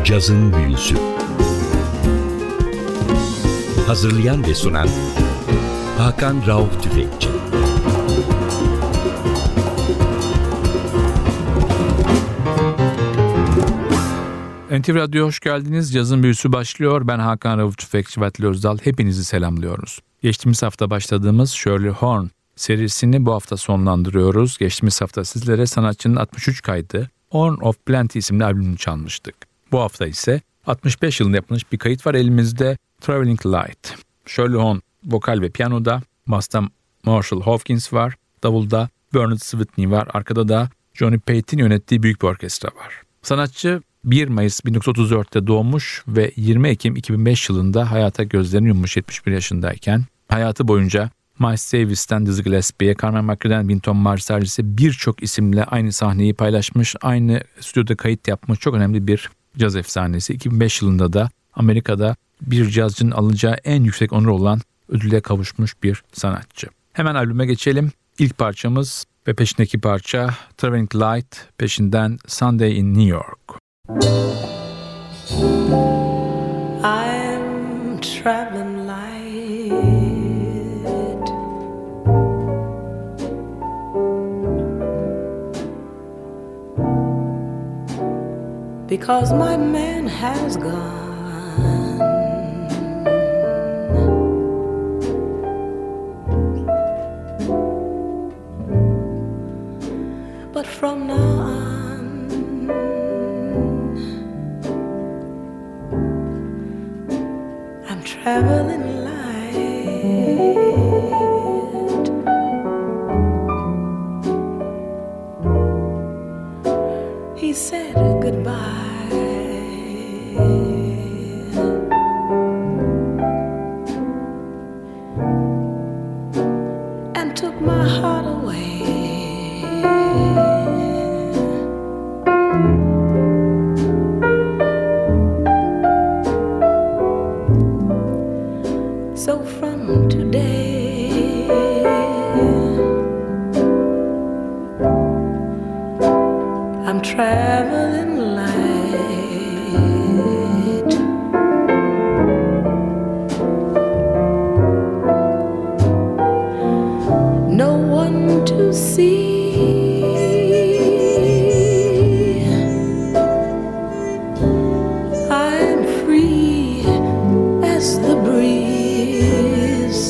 Cazın Büyüsü. Hazırlayan ve sunan Hakan Rauf Tüfekçi. NTV Radyo'ya hoş geldiniz. Cazın Büyüsü başlıyor. Ben Hakan Rauf Tüfekçi ve Atli Özdal. Hepinizi selamlıyoruz. Geçtiğimiz hafta başladığımız Shirley Horn serisini bu hafta sonlandırıyoruz. Geçtiğimiz hafta sizlere sanatçının 63 kaydı Horn of Plenty isimli albümünü çalmıştık. Bu hafta ise 65 yılında yapılmış bir kayıt var elimizde, Traveling Light. Shirley Horn vokal ve piyanoda, basta Marshall Hawkins var, davulda Bernard Switney var, arkada da Johnny Pate'in yönettiği büyük bir orkestra var. Sanatçı 1 Mayıs 1934'te doğmuş ve 20 Ekim 2005 yılında hayata gözlerini yummuş 71 yaşındayken. Hayatı boyunca Miles Davis'ten Dizzy Gillespie'ye, Carmen McRae'den Wynton Marsalis'e birçok isimle aynı sahneyi paylaşmış, aynı stüdyoda kayıt yapmış çok önemli bir caz efsanesi. 2005 yılında da Amerika'da bir cazcının alacağı en yüksek onur olan ödüle kavuşmuş bir sanatçı. Hemen albüme geçelim. İlk parçamız ve peşindeki parça Traveling Light, peşinden Sunday in New York. I'm traveling light, because my man has gone, but from now on traveling light. He said goodbye and took my heart away. So from today, I'm traveling light. No one to see, I'm free as the breeze.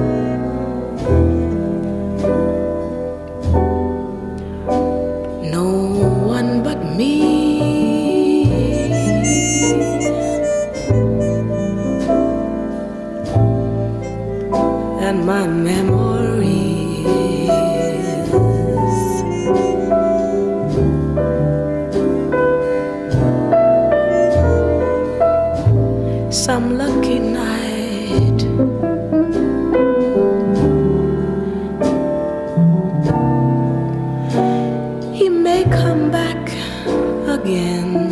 No one but me, and my memories. Some lucky night he may come back again,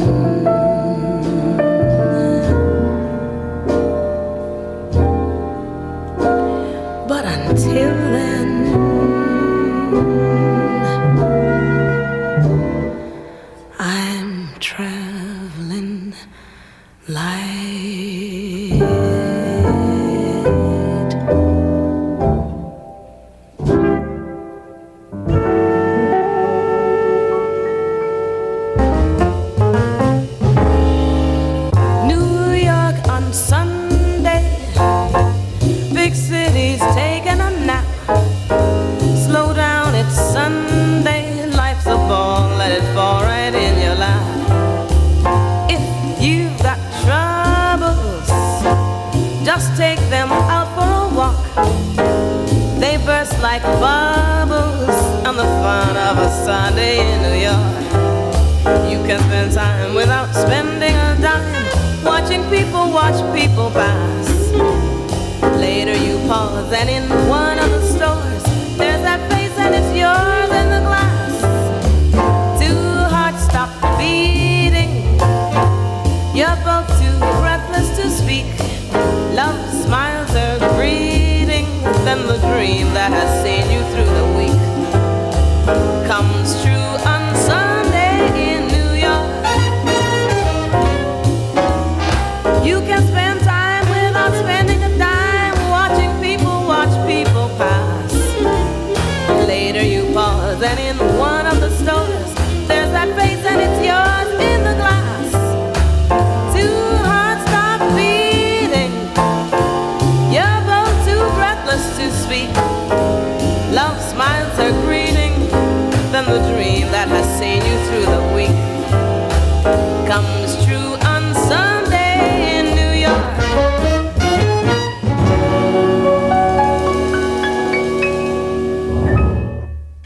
but until then I'm traveling light. Like bubbles on the fun of a Sunday in New York. You can spend time without spending a dime, watching people watch people pass. Later you pause and in one of the stores there's that face and it's yours in the glass. Two hearts stop beating, you're both too breathless to speak. Love smiles are greeting, then the dream that has seen you through the week comes true on Sunday in New York.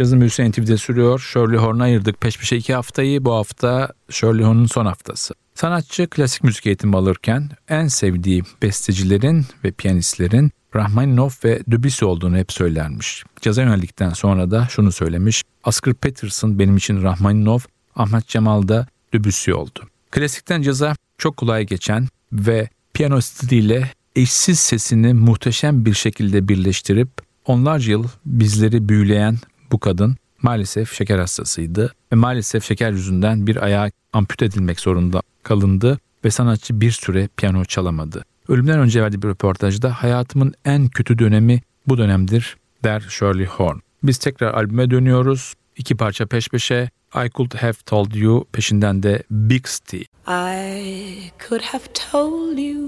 Cazın Büyüsü NTV'de sürüyor. Shirley Horn'a ayırdık peş peşe 2 haftayı. Bu hafta Shirley Horn'un son haftası. Sanatçı klasik müzik eğitimi alırken en sevdiği bestecilerin ve piyanistlerin Rachmaninov ve Debussy olduğunu hep söylermiş. Caza yöneldikten sonra da şunu söylemiş: Oscar Peterson benim için Rachmaninov, Ahmet Cemal da Debussy oldu. Klasikten caza çok kolay geçen ve piyano stiliyle eşsiz sesini muhteşem bir şekilde birleştirip onlarca yıl bizleri büyüleyen bu kadın maalesef şeker hastasıydı ve maalesef şeker yüzünden bir ayağı ampute edilmek zorunda kalındı ve sanatçı bir süre piyano çalamadı. Ölümden önce verdiği bir röportajda hayatımın en kötü dönemi bu dönemdir der Shirley Horn. Biz tekrar albüme dönüyoruz. 2 parça peş peşe. I Could Have Told You, peşinden de Big Steve. I could have told you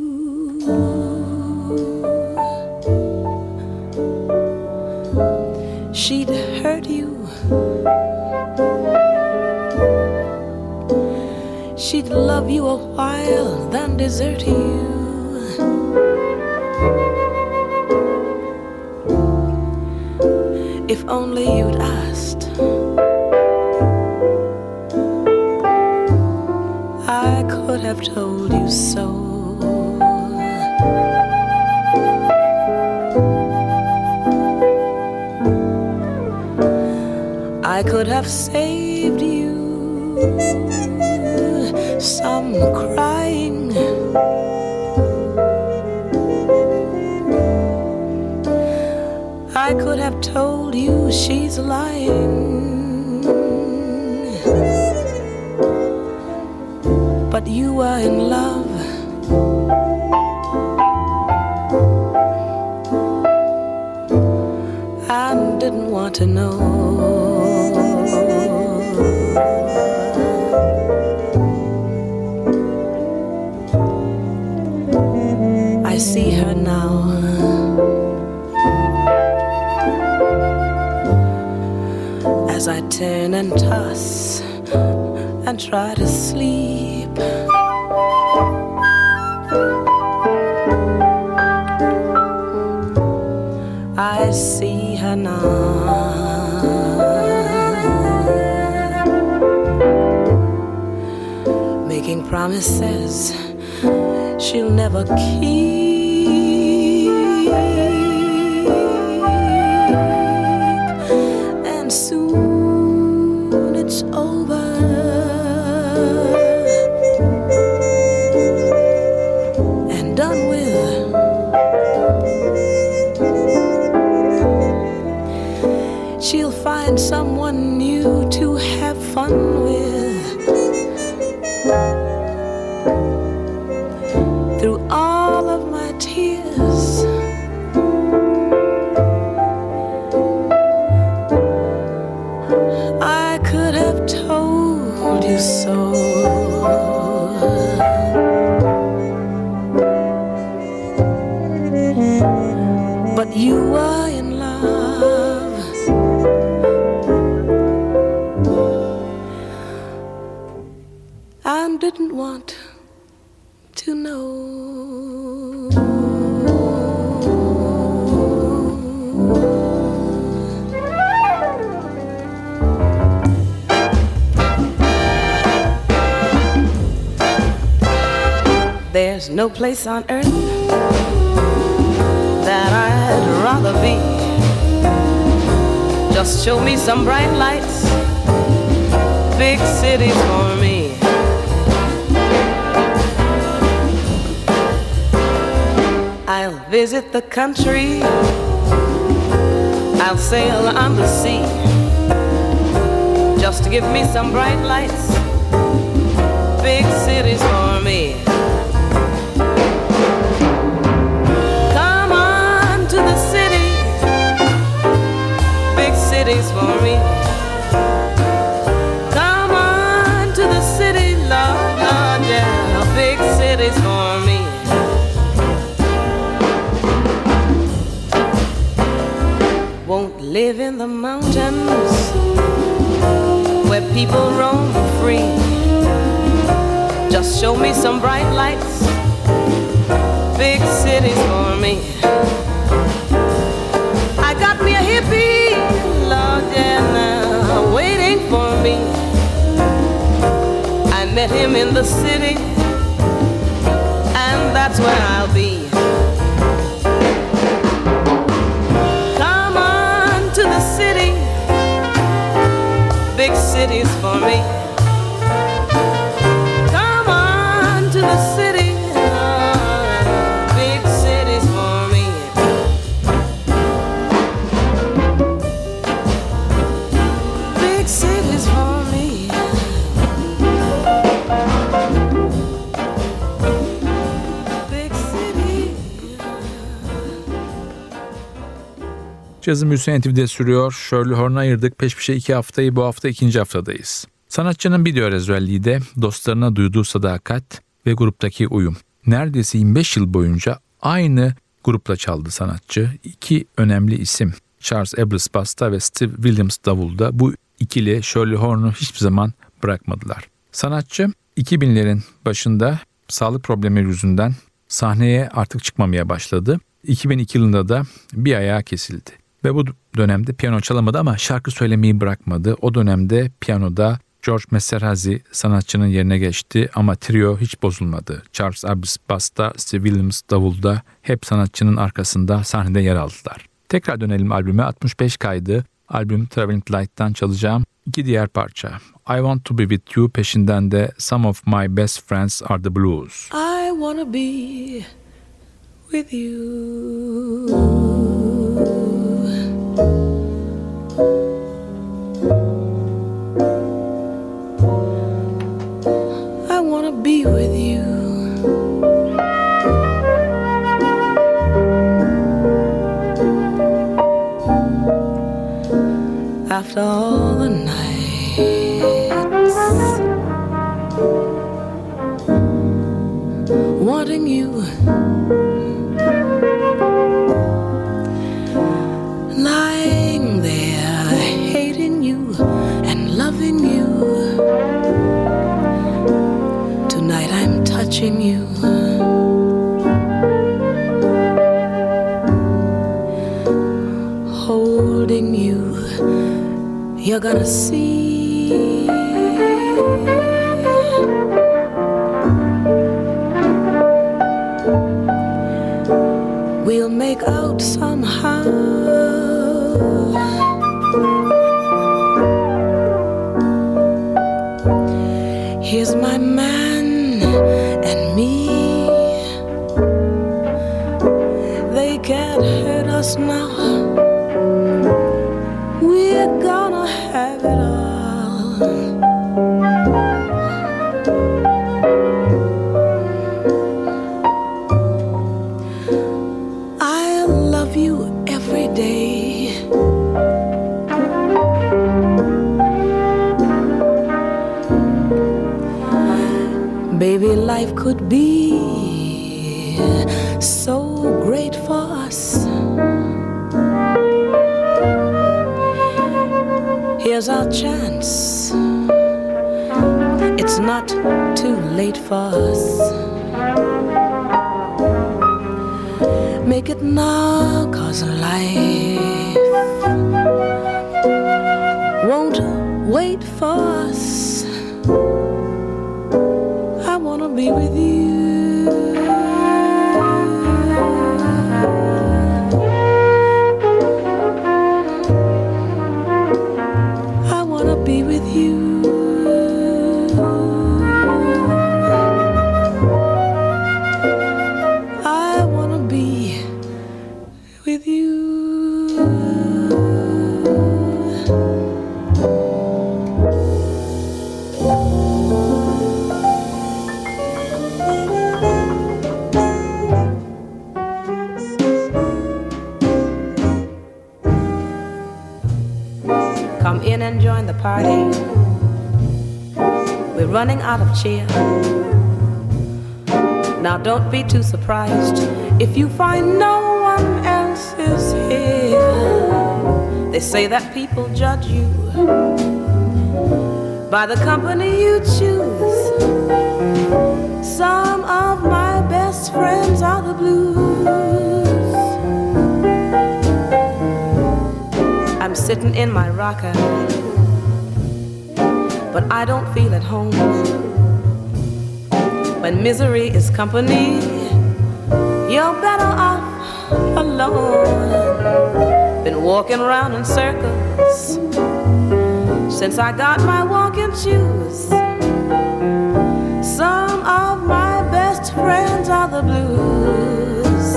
she'd hurt you, she'd love you a while, then desert you. If only you'd asked, I could have told you so. I could have saved you some crying. I could have told you she's lying, but you were in love. And didn't want to know. I see her now, as I turn and toss and try to sleep. I see her now, making promises she'll never keep. And soon it's over, and done with. She'll find someone new to have fun with. Through all of my tears, I could have told you so. But you were in love, and didn't want to know. There's no place on earth that I'd rather be. Just show me some bright lights, big cities for me. I'll visit the country, I'll sail on the sea. Just give me some bright lights, big cities for me. Come on to the city, big cities for me. Come on to the city, Lord, Lord, yeah, big cities for me. Won't live in the mountains where people roam free. Just show me some bright lights, big cities for me. I got me a hippie, Lord, yeah, the city, and that's where I'll be. Come on to the city, big cities for me. Come on to the city, big cities for me. Big cities for me. Big city. Cazın Büyüsü NTV'de sürüyor. Shirley Horn'u ayırdık. Peş peşe 2 haftayı, bu hafta 2. haftadayız. Sanatçının bir diğer özelliği de dostlarına duyduğu sadakat ve gruptaki uyum. Neredeyse 25 yıl boyunca aynı grupla çaldı sanatçı. 2 önemli isim, Charles Abbas basta ve Steve Williams davulda, bu ikili Shirley Horn'u hiçbir zaman bırakmadılar. Sanatçı 2000'lerin başında sağlık problemleri yüzünden sahneye artık çıkmamaya başladı. 2002 yılında da bir ayağı kesildi. Ve bu dönemde piyano çalamadı ama şarkı söylemeyi bırakmadı. O dönemde piyanoda George Messerhazy sanatçının yerine geçti ama trio hiç bozulmadı. Charles Abbas basta, Steve Williams davulda hep sanatçının arkasında sahnede yer aldılar. Tekrar dönelim albüme. 65 kaydı. Albüm Traveling Light'tan çalacağım 2 diğer parça. I Want To Be With You, peşinden de Some Of My Best Friends Are The Blues. I wanna be with you. I wanna be with you. After all the nights wanting you, lying there hating you and loving you. Tonight I'm touching you, holding you. You're gonna see we'll make out somehow. Here's my man and me. They can't hurt us now. We're gonna have it all. I love you every day. Baby, life could be so great for us. Here's our chance. It's not too late for us. Make it now, 'cause life won't wait for us. I wanna be with you. Be with you. I wanna be with you. Come in and join the party. We're running out of cheer. Now don't be too surprised if you find no one else is here. They say that people judge you by the company you choose. Some of my best friends are the blues. I'm sitting in my rocker, but I don't feel at home. When misery is company, you're better off alone. Been walking around in circles since I got my walking shoes. Some of my best friends are the blues.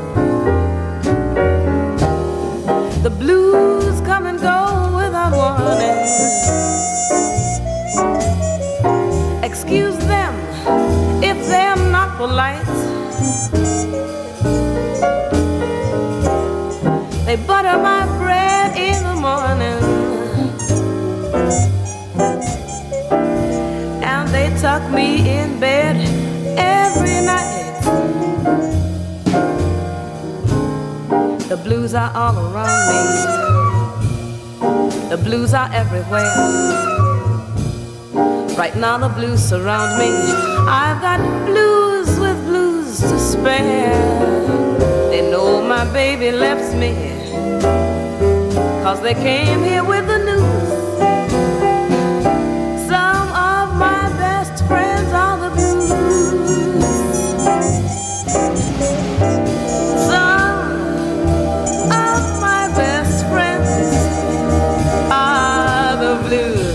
The blues come and go without warning. Excuse them if they're not polite. They butter my bread in the morning, and they tuck me in bed every night. The blues are all around me. The blues are everywhere. Right now the blues surround me. I've got blues with blues to spare. They know my baby left me, 'cause they came here with the news. Some of my best friends are the blues. Some of my best friends are the blues.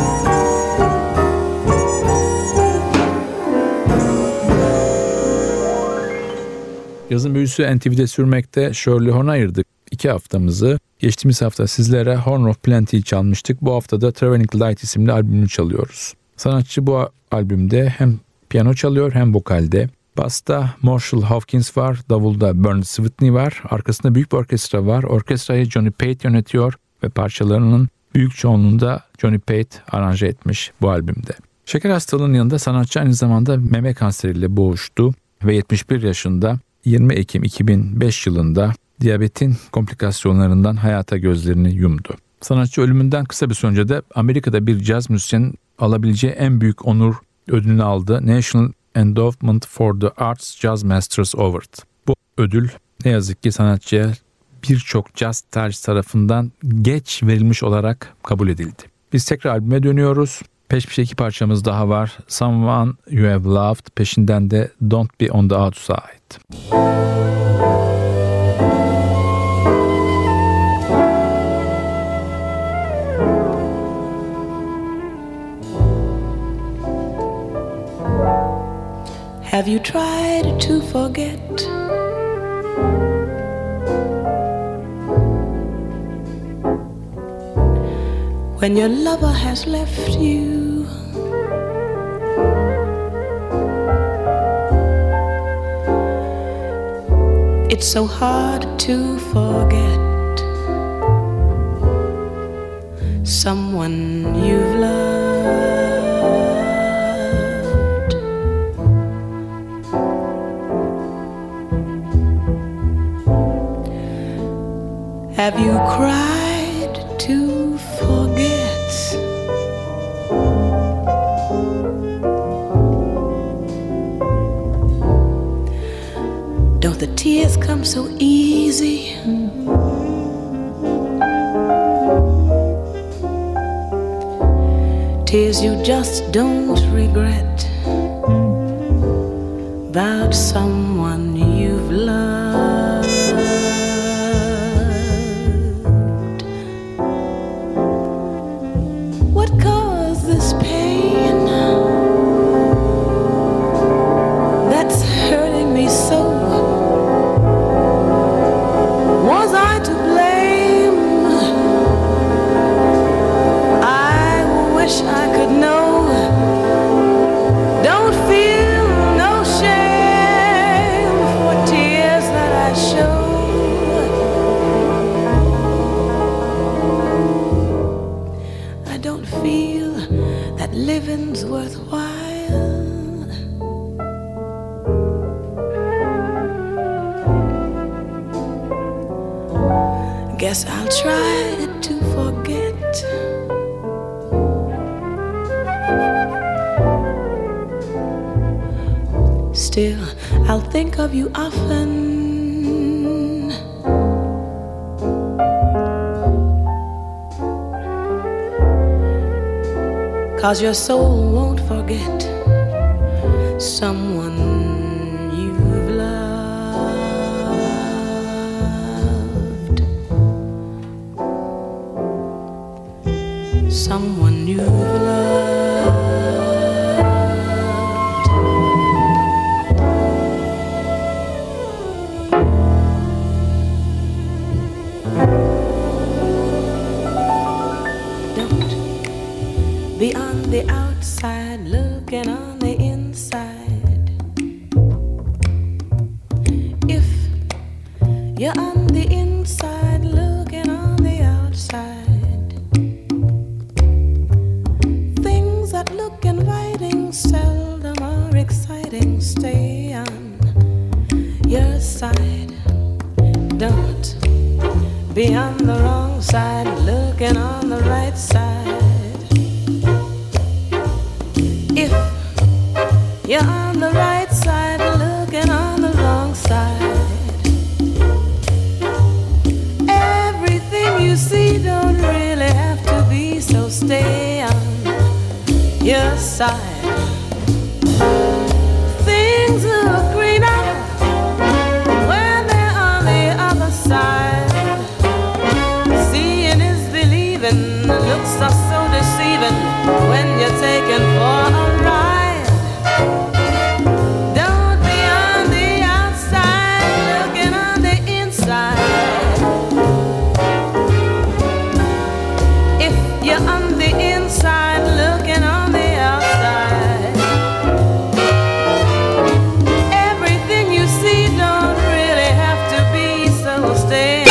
Yazın büyüsü NTV'de sürmekte. Shirley Horn'a ayırdık 2 haftamızı. Geçtiğimiz hafta sizlere Horn of Plenty'yi çalmıştık. Bu hafta da Traveling Light isimli albümünü çalıyoruz. Sanatçı bu albümde hem piyano çalıyor hem vokalde. Basta Marshall Hawkins var, davulda Bernard Switney var, arkasında büyük bir orkestra var. Orkestrayı Johnny Pate yönetiyor ve parçalarının büyük çoğunluğunda Johnny Pate aranje etmiş bu albümde. Şeker hastalığının yanında sanatçı aynı zamanda meme kanseriyle boğuştu ve 71 yaşında 20 Ekim 2005 yılında diyabetin komplikasyonlarından hayata gözlerini yumdu. Sanatçı ölümünden kısa bir süre önce de Amerika'da bir caz müzisyenin alabileceği en büyük onur ödülünü aldı. National Endowment for the Arts Jazz Masters Award. Bu ödül ne yazık ki sanatçıya birçok caz tarihçisi tarafından geç verilmiş olarak kabul edildi. Biz tekrar albüme dönüyoruz. Peş peşe 2 parçamız daha var. Someone You Have Loved, peşinden de Don't Be On The Outside. Have you tried to forget? When your lover has left you, it's so hard to forget someone you've loved. Have you cried to forget? Don't the tears come so easy? Tears you just don't regret about someone you've loved. Living's worthwhile. Guess I'll try to forget. Still, I'll think of you often. 'Cause your soul won't forget someone you've loved, someone you've loved. Don't be on the outside looking on the inside. If you're on the inside looking on the outside, things that look inviting seldom are exciting. Stay on your side. Don't be on the wrong side looking on the right side. If you're on the right side looking on the wrong side, everything you see don't really have to be, so stay on your side.